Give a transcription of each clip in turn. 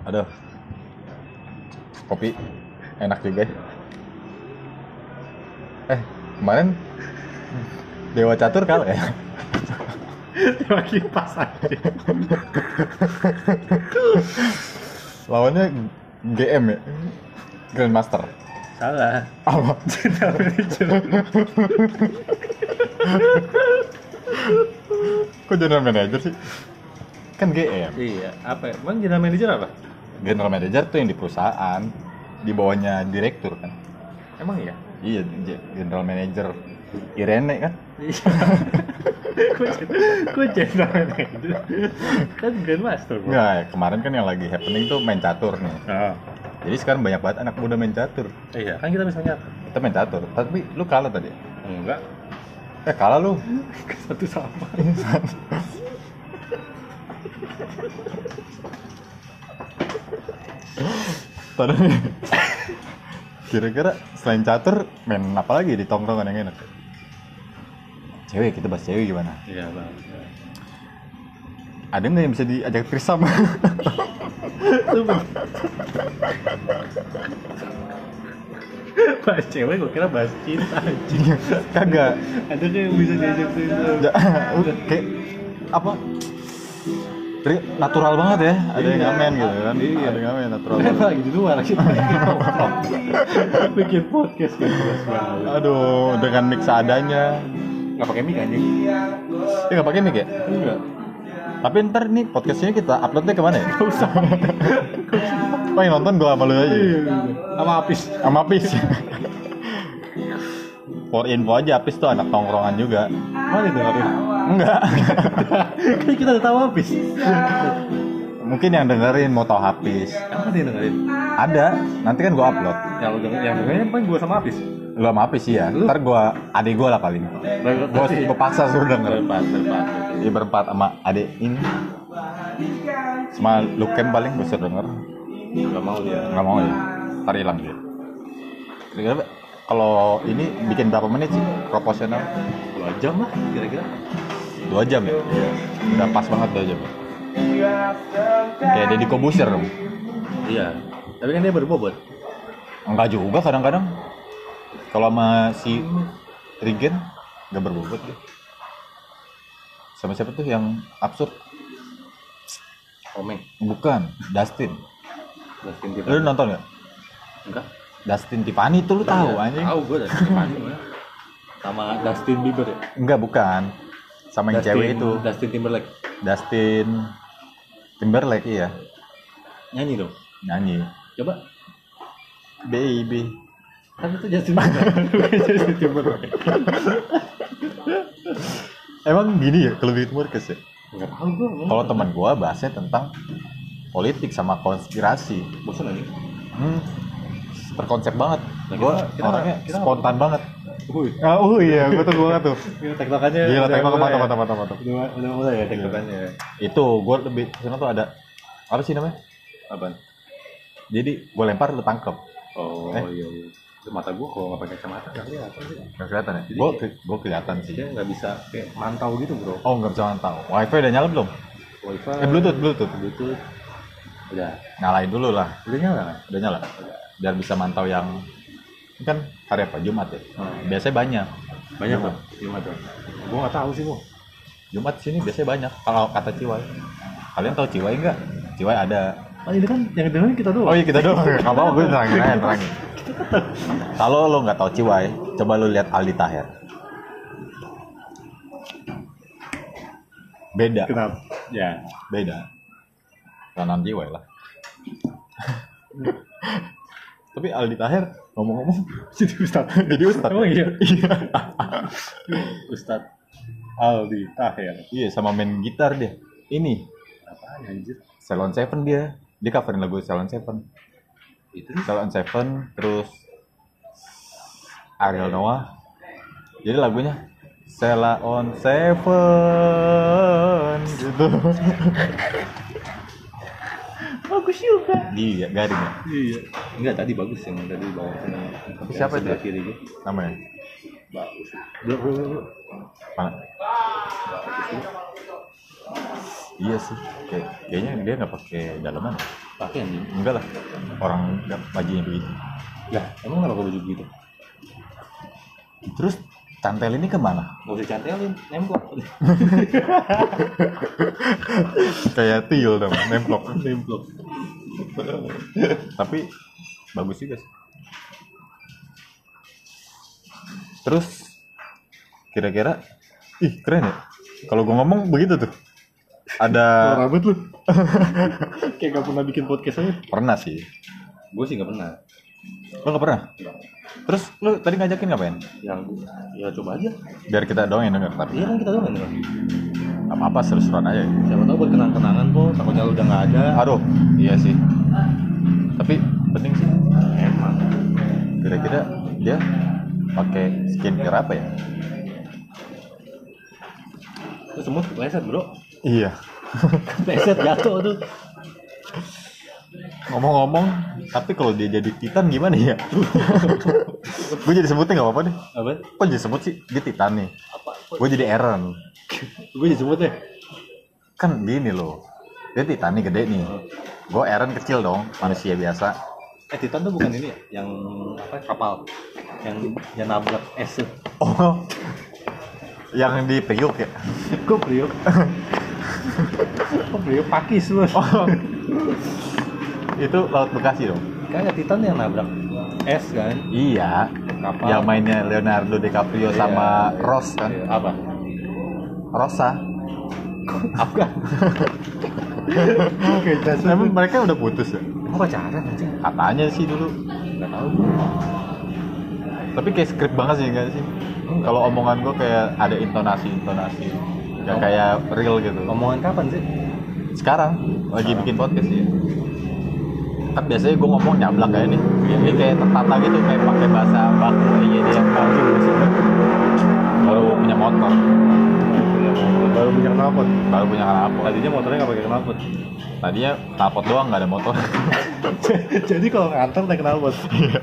Aduh, kopi enak juga. Kemarin Dewa Catur kalah ya. Dewa kipas aja. Lawannya GM ya, Grandmaster. Salah. Apa? General Manager. Kok General Manager sih? Kan GM. Iya, apa ya? Emang General Manager apa? General Manager tuh yang di perusahaan, di bawahnya direktur kan. Emang iya? Iya, General Manager Irene kan. Iya. Kok General Manager? Kan Grandmaster. Enggak, kemarin kan yang lagi happening tuh main catur nih. Oh. Jadi sekarang banyak banget anak muda main catur. Iya, kan kita bisa nyata. Kita main catur, tapi lu kalah tadi. Enggak. Kalah lu. Satu sama. Tadi kira-kira selain catur main apa lagi di tongkrongan yang enak? Cewek, kita bahas cewek gimana? Iya, Bang. Ada nggak yang bisa diajak trisam? Bahas cewek, gue kira bahas cinta anjing. Kagak. Ada kayak yang bisa diajak cinta. Kayak apa? Natural banget ya. Ada yang ngamen gitu kan? Iya. Ada yang ngamen natural Kan banget. lagi di luar kita bikin podcast gitu. Aduh, dengan mix seadanya. Nggak pakai mic anjing? Nggak pakai mic ya? Enggak. Tapi ntar nih podcastnya kita uploadnya kemana ya? Nggak usah. Oh, yang nonton gue sama lu aja. Sama Apis. Sama Apis. For info aja, Apis tuh anak tongkrongan juga. Mana dengerin? Enggak. Kan kita udah tahu Apis. Mungkin yang dengerin mau tahu Apis. Emang ada yang dengerin? Ada, nanti kan gue upload. Yang dengerin kan gue sama Apis. Lu sama Apis sih ya. Ntar gue, adik gue lah paling. Gue paksa suruh denger. Berempat. Iya berempat sama adik ini. Sama Lukem paling gue suruh denger. Gak mau dia. Nggak mau ya. Ntar hilang dia. Kira-kira kalau ini bikin berapa menit sih proporsional? 2 jam lah kira-kira. 2 jam ya? Iya. Udah pas banget 2 jam. Kayak Deddy Kobusier dong. Iya. Tapi kan dia berbobot. Enggak juga kadang-kadang. Kalau sama si Regen nggak berbobot dia. Sama siapa tuh yang absurd? Omeng. Bukan, Dustin. Dustin Lu Tiffany. nonton nggak? Enggak. Dustin Tiffany tuh lu tahu anjing? Tahu gue Dustin Tiffany mah. Sama Dustin Bieber ya? Enggak, bukan. Sama yang cewek itu. Dustin Timberlake. Dustin Timberlake iya. Nyanyi dong. Nyanyi. Coba. Baby. Kan itu Justin Bieber. Justin Timberlake. Emang gini ya kelebihan Murkes ya? Enggak tahu gue. Kalau teman gua bahasnya tentang politik sama konspirasi. bosan aja. Terkonsep banget. Nah, Gua kita- orangnya kita- spontan banget. Wih. Iya, gua tuh. Ini tektokannya. Gila, udah tektok mulai ya? mantap. Udah mulai ya tektokannya. Itu gua lebih sana tuh ada apa sih namanya? Apaan? Jadi gua lempar lu tangkep. Oh iya. Itu mata gue kalau nggak pakai kacamata nggak kelihatan sih. Nggak kelihatan ya? Jadi Gua kelihatan sih. Dia nggak bisa kayak mantau gitu bro. Oh, nggak bisa mantau. Wifi udah nyala belum? Wifi. Bluetooth. Udah. Nyalain dulu lah. Udah nyala kan? Udah nyala. Biar bisa mantau yang ini kan hari apa? Jumat ya. Biasanya banyak. Banyak bang. Gimana tuh? Gue nggak tahu sih bu. Jumat sini biasanya banyak. Kalau kata Ciwai. Kalian tahu Ciwai nggak? Ciwai ada. Oh ini kan yang dengerin kita doang. Oh iya kita doang. Nggak apa-apa, gue terangin. Kalau lo nggak tahu Ciwai, coba lo lihat Aldi Taher. Beda. Kenapa? Ya. Beda. Kanan Ciwai lah. Tapi Aldi Taher ngomong-ngomong Jadi Ustad. jadi ustad. Emang iya? Iya. Ustad Aldi Taher. Iya, sama main gitar dia. Ini Apaan anjir? Salon Seven dia. Dia coverin lagu Salon Seven. Itu Salon Seven terus Ariel Noah. Jadi lagunya Sela on Seven gitu. bagus juga. Iya, garing ya. Iya. Enggak tadi bagus yang tadi bawa kena. Siapa itu? Sebelah kiri gue. Namanya? Bagus. Belum. Mana? Iya sih, kayaknya dia nggak pakai dalaman. Pakai anjing. Enggak lah, orang bajunya begitu. Ya, emang kenapa baju gitu? Terus cantel ini kemana? Gak usah cantelin, nemplok. Kayak tuyul dong, nemplok. Nemplok. Tapi bagus juga sih. Terus kira-kira, keren ya. Kalau gue ngomong begitu tuh. Ada rambut lu. Kayak gak pernah bikin podcast aja. Pernah sih. Gue sih gak pernah. Lo gak pernah? Terus lu tadi ngajakin ngapain? Ya coba aja. Biar kita doang yang denger. Tapi Iya kan kita doang kan. apa-apa seru-seruan aja. Siapa tahu buat kenang-kenangan po. Takutnya lu udah gak ada. Aduh, iya sih. Tapi penting sih. Emang. Kira-kira dia pakai skincare apa ya? Itu semut leset bro. Iya. Leset jatuh tuh. Ngomong-ngomong, tapi kalau dia jadi Titan gimana ya? Gue jadi sebutnya nggak apa-apa deh. Apa? Kok jadi sebut sih? Dia Titan nih. Gue jadi Eren. Gue disebut deh. Kan gini loh. Dia Titan nih gede nih. Gue Eren kecil dong, manusia biasa. Titan tuh bukan ini ya? Yang apa? Kapal. Yang nabrak es tuh. Oh, yang di Priuk ya? Kok Priok? Kok Priok pakis lu? Oh, itu Laut Bekasi dong? Kayak Titan yang nabrak es kan? Iya. Kapal. Yang mainnya Leonardo DiCaprio sama Ross kan? Iya. Apa? Rosa. Apa? Emang mereka udah putus ya? Apa pacaran anjing? Katanya sih dulu. Enggak tahu. Tapi kayak skrip banget sih enggak sih? Kalau omongan gue kayak ada intonasi. Gak kayak real gitu. Omongan kapan sih? Sekarang lagi bikin podcast ya. Kan biasanya gue ngomong nyablak kayak nih. Ini kayak tertata gitu, kayak pakai bahasa baku aja dia. Baru punya motor. Baru punya knalpot. Baru punya knalpot. Tadinya motornya nggak pakai knalpot. Tadinya knalpot doang, nggak ada motor. Jadi kalau ngantor naik knalpot.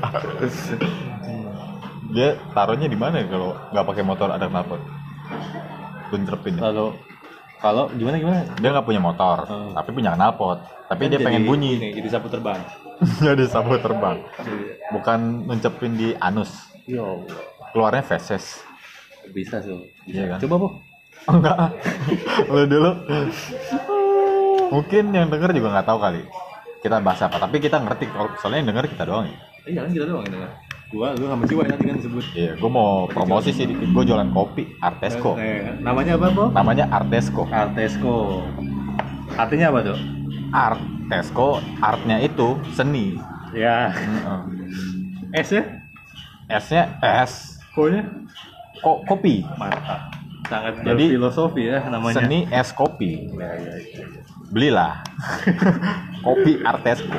Dia taruhnya di mana ya kalau nggak pakai motor ada knalpot? Buncerpin ya. Kalau gimana? Dia nggak punya motor, tapi punya knalpot. Tapi Kan dia pengen bunyi. Jadi sapu terbang. Jadi sapu terbang. Bukan nuncepin di anus. Yo, Keluarnya feses. bisa tuh. Iya kan? Coba po. Enggak. Lu dulu. Mungkin yang denger juga nggak tahu kali. Kita bahas apa, tapi kita ngerti. Soalnya yang denger kita doang ya. Iya kan kita doang ini kan. Lu sama Ciwa nanti kan disebut. Iya, gue mau promosi sih dikit. Gue jualan kopi, Artesco. Namanya apa po? Namanya Artesco. Artesco. Artinya apa tuh? Artesco, artnya itu seni. Ya. S ya? S-nya S. Ko-nya? Kopi. Mantap. Sangat Jadi, filosofi ya namanya. Seni es kopi. Ya. Belilah. Kopi Artesco.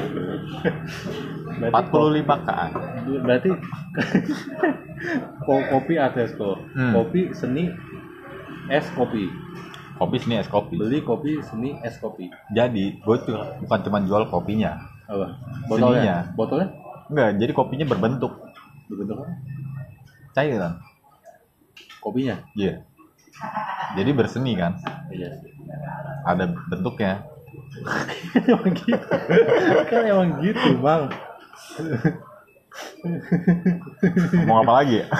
45-an. Berarti kopi Artesco. Kopi seni es kopi. Kopi seni es kopi. Beli kopi seni es kopi. Jadi gue tuh bukan cuma jual kopinya. Apa? Seninya. Botolnya? Enggak, jadi kopinya berbentuk Berbentuk apa? cairan. Kopinya? Iya. Jadi berseni kan. Iya. Ada bentuknya. Emang gitu. Kan emang gitu, Bang. Ngomong apa lagi ya?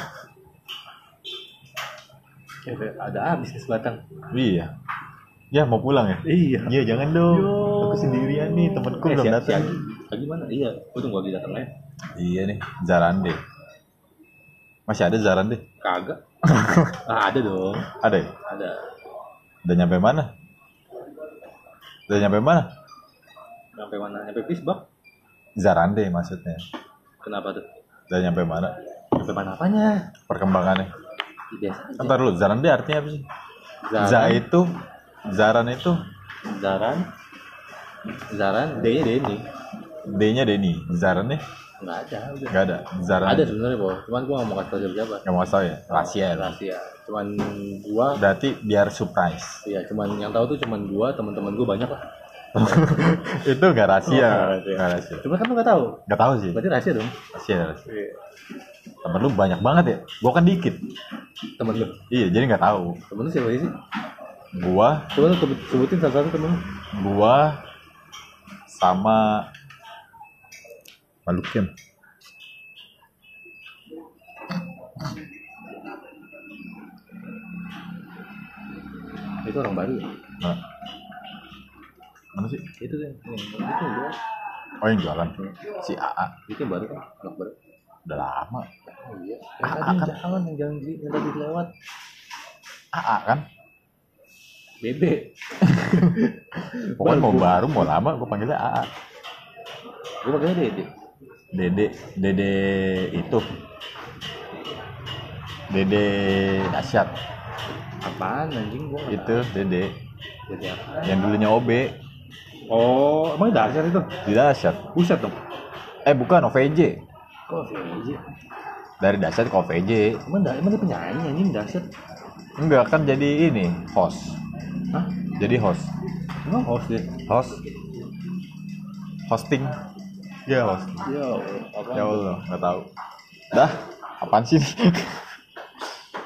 Ada habis nih sebatang. Iya. Ya mau pulang ya? Iya. Iya jangan dong. Yo. Aku sendirian nih, temanku belum datang. Lagi mana? Iya. Gue tunggu lagi datang ya. Iya nih, Zarande. Masih ada Zarande? Kagak. Ada dong. Ada ya? Ada. Udah nyampe mana? Sampai mana? Sampai Pisbak. Zarande maksudnya. Kenapa tuh? Udah nyampe mana? Sampai mana apanya? Perkembangannya. Biasa aja. Ntar dulu, Zarande artinya apa sih? Zaran itu Zaran D-nya Denny. D-nya Denny. Zarannya Enggak ada, udah. nggak ada. Zaran Ada sebenarnya, Po. Cuman gua enggak mau kasih tahu siapa. nggak mau tahu ya. Rahasia. Cuman gua Berarti biar surprise. iya, cuman yang tahu tuh cuman gua, teman-teman gua banyak lah. Itu nggak rahasia. Nggak Nggak rahasia. Cuma kan lu enggak tahu. Nggak tahu sih. Berarti rahasia dong. Rahasia. Temen lu banyak banget ya. Gua kan dikit. Temen lu. Iya, jadi nggak tahu. Temen lu siapa sih? Gua Coba lu sebutin satu-satu temen. gua sama Malukim. Itu orang baru ya? Nah, mana sih? Itu kan. Itu gua. Oh, yang jualan si AA. Itu baru kan? Anak baru. Udah lama. Oh iya. Yang tadi jangan yang tadi lewat. AA kan? Bebe. Pokoknya mau baru mau lama gua panggilnya AA. Gua pakainya Dede. Dede itu. Dede dahsyat. Apaan anjing gua nggak Itu Dede tahu. Dede apa? yang dulunya OB. Oh, emang dasar itu? Di dahsyat. Buset dong. Bukan OVJ. Kok VJ? Dari dahsyat ke OVJ. Emang dia penyanyi anjing dasar. Enggak kan jadi ini host. Hah? Jadi host. Emang host deh. Host. Hosting. Ya host. Yo, apa? Ya Allah nggak tahu. Dah apaan sih?